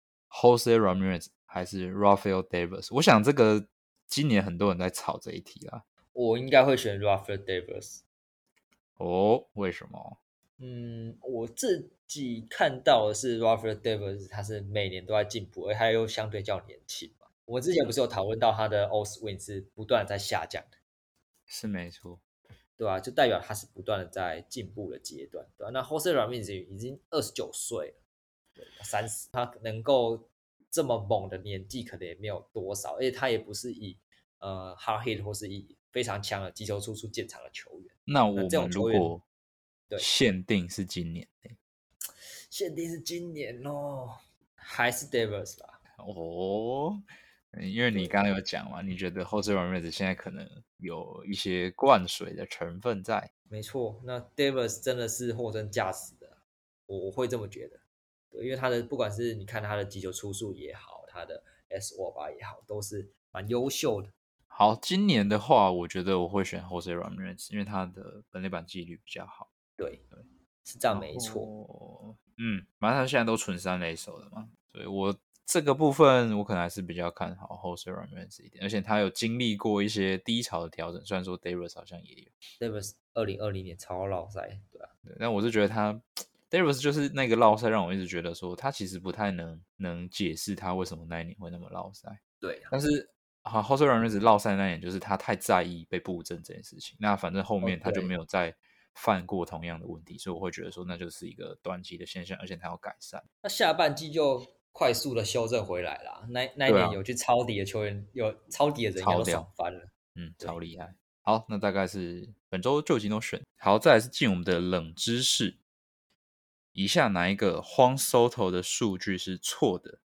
，Jose Ramirez 还是 Rafael Devers？我想这个今年很多人在炒这一题啦。 我应该会选 Rafael Devers。 哦，为什么？ 嗯，我自己看到的是 Rafael Devers，他是每年都在进步，而他又相对较年轻嘛。我们之前不是有讨论到他的 O swing 是不断的在下降的， 是没错， 对吧、就代表他是不断的在进步的阶段，对吧、那 Jose Ramirez 已经二十九岁了，对，三十，他能够这么猛的年纪可能也没有多少，而且他也不是以呃 hard hit 或是以非常强的击球出处见长的球员。那这种那我们如球员， 果对， 限定是今年欸限定是今年哦，还是 Devers 吧？ 哦，嗯因为你对， 刚刚有讲嘛，你觉得 Jose Ramirez 现在可能有一些灌水的成分在。 没错，那 Devers 真的是货真价实的，我我会这么觉得。对，因为他的不管是你看他的击球出速也好，他的 S O 吧也好，都是蛮优秀的。 好，今年的话，我觉得我会选 Jose Ramirez，因为他的本垒板纪律比较好。 对， 对， 是这样然没错。 后嗯，反正他现在都纯三垒手了嘛，所以我这个部分我可能还是比较看好 Jose Ramirez 一点，而且他有经历过一些低潮的调整，虽然说 Davis 好像也有。 Davis 二零二零年超老赛，对啊， 对，但我是觉得他 Davis 就是那个落赛，让我一直觉得说他其实不太能能解释他为什么那一年会那么落赛。 对啊， 但是好 Jose Ramirez 落赛那年就是他太在意被布阵这件事情，那反正后哦面他就没对， 有再犯过同样的问题，所以我会觉得说那就是一个短期的现象，而且他要改善。 那下半季就快速的修正回来啦。那那一对啊， 年有去抄底的球员，有抄底的人应该都超屌， 爽翻了。 嗯，超对， 厉害。好，那大概是本周就已经都选好，再来是进我们的冷知识。以下哪一个荒 Soto 的数据是错的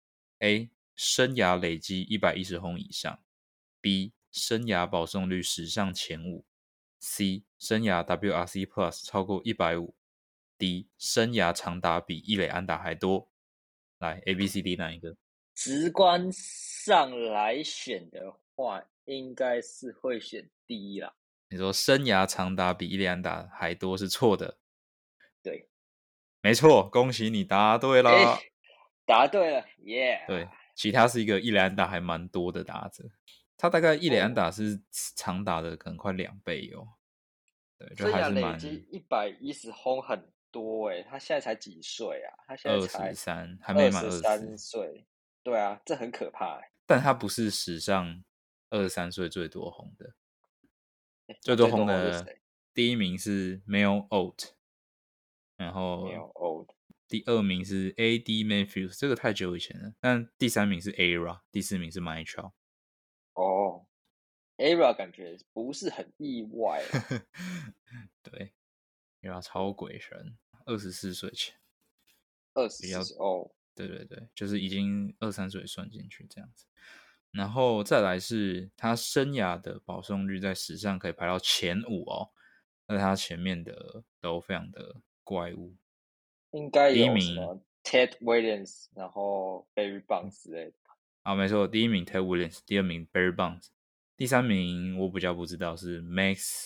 ？A. 生涯累积一百一十轰以上 ；B. 生涯保送率史上前五；C. 生涯 W R C Plus 超过一百五 ；D. 生涯长打比一垒安打还多。来 ，A、B、C、D 哪一个？ 直观上来选的话，应该是会选第一啦。 你说生涯长打比一垒安打还多是错的， 对， 没错，恭喜你答对哎， 啦。 答对了，耶、 对，其他是一个一垒安打还蛮多的打者，他大概一垒安哦， 打是长打的可能快两倍哦。对，就生涯还是蛮累积一百一十轰很多诶，他现在才几岁啊？他现在二十才三，还没二满十三二十四， 岁。对啊，这很可怕诶。 但他不是史上二十三岁最多轰的， 诶最多那最多轰的轰是谁？ 第一名是 Mel Ott，然没有后哦第二名是 A D Matthews，这个太久以前了，但第三名是 Era，第四名是 Mitchell。 哦 e r a 感觉不是很意外啦。 对，Era 超鬼神，二十四岁前。 二十比较四哦， 对对对，就是已经二三岁算进去这样子。然后再来是他生涯的保送率在史上可以排到前五哦，那他前面的都非常的怪物。 应该第一名有什么 Ted Williams，然后 Barry Bonds 之类的。 啊，没错，第一名 Ted Williams，第二名 Barry Bonds，第三名我比较不知道是 Max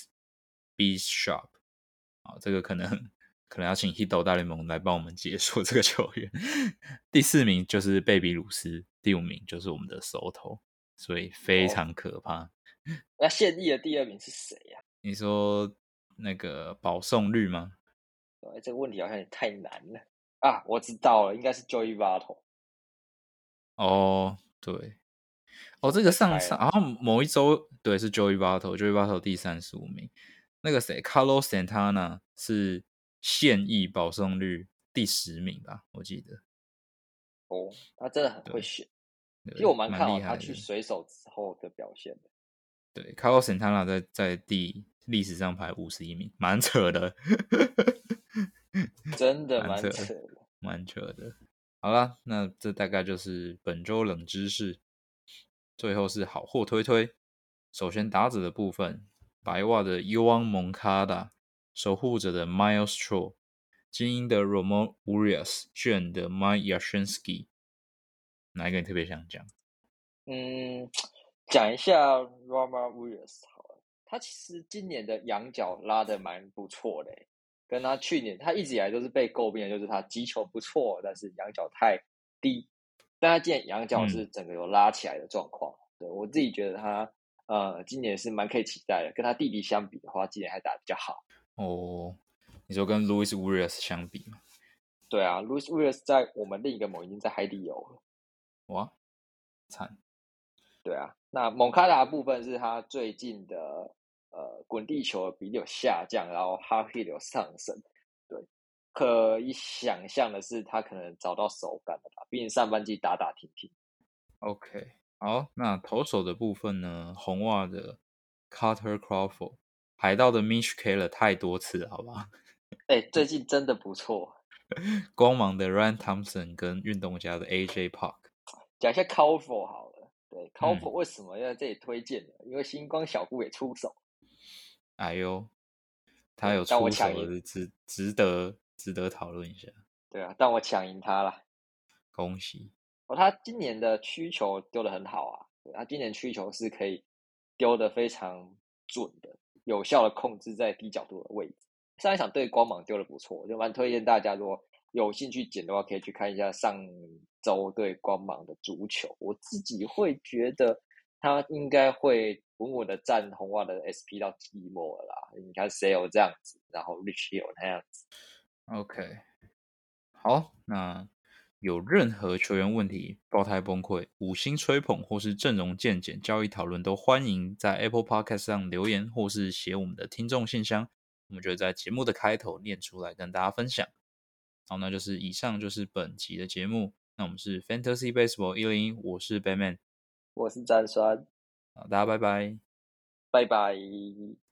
Bishop，啊，这个可能可能要请 Hito 大联盟来帮我们解说这个球员。第四名就是贝比鲁斯，第五名就是我们的 Soto，所以非哦， 常可怕。 那现役的第二名是谁呀、 你说那个保送率吗？ 对，这个问题好像也太难了啊！我知道了，应该是 Joey Votto。 哦，对，哦，这个我在上上， 猜了， 好像某一周对是 Joey Votto，Joey Votto 第三十五名。那个谁，Carlos Santana 是现役保送率第十名吧？我记得， 哦，他真的很会对选。其实我对， 蛮看好他蛮厉害的。 去水手之后的表现的。 对，Carlos Santana 在在第历史上排五十一名，蛮扯的， 真的蛮扯的， 蛮扯的。 蛮扯的。好啦，那这大概就是本周冷知识。最后是好货推推。首先打者的部分，白袜的 Yoan Moncada，守护者的 Miles Straw，精英的 Ramon Urias，巨人的 Mike Yastrzemski，哪一个你特别想讲？ 嗯，讲一下 Rama Williams 好了，他其实今年的仰角拉的蛮不错的欸，跟他去年他一直以来都是被诟病的，就是他击球不错，但是仰角太低。但他今年仰角是嗯， 整个有拉起来的状况，对我自己觉得他呃今年是蛮可以期待的。跟他弟弟相比的话，今年还打得比较好。 哦，你说跟 Luis Urias 相比吗？ 对啊，Luis Williams 在我们另一个盟已经在海底游了。 哇，惨， 对啊，那蒙卡达的部分是他最近的呃滚地球的比例有下降，然后 hard hit 有上升。对，可以想象的是他可能找到手感了吧，毕竟上半季打打停停。 OK，好，那投手的部分呢？红袜的 Carter Crawford，海盗的 Mitch Keller 太多次了，好吧？ 哎，最近真的不错。 光芒的 Ryan Thompson 跟运动家的 A J Park， 讲一下 c a l f o r 好了，对 c a l f o r 嗯， 为什么要在这里推荐呢？因为星光小姑也出手。 哎呦，他有对，但我出抢赢， 手的，值值得值得讨论一下， 对啊，但我抢赢他了。 恭喜。 哦，他今年的曲球丢的很好啊，对他今年曲球是可以丢的非常准的，有效的控制在低角度的位置。上一场对光芒丢的不错，就蛮推荐大家如果有兴趣捡的话，可以去看一下上周对光芒的足球。我自己会觉得他应该会稳稳的占红袜的 S P 到季末了啦。你看 Sale 这样子，然后 Rich Hill 那样子。 OK， 好，那有任何球员问题、爆胎崩溃、五星吹捧或是阵容见解、交易讨论，都欢迎在 Apple Podcast 上留言，或是写我们的听众信箱，我们就会在节目的开头念出来跟大家分享。好，那就是以上就是本集的节目。那我们是 Fantasy Baseball 一零一，我是 Batman， 我是詹酸， 好，大家拜拜。 拜拜。